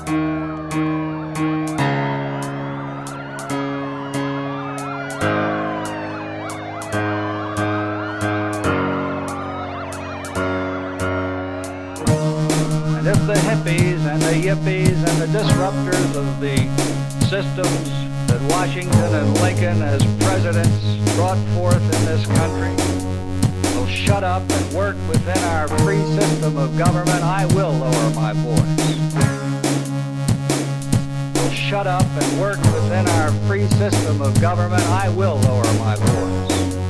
And if the hippies and the yippies and the disruptors of the systems that Washington and Lincoln as presidents brought forth in this country will shut up and work within our free system of government, I will lower my voice. Will shut up and work within our free system of government, I will lower my voice.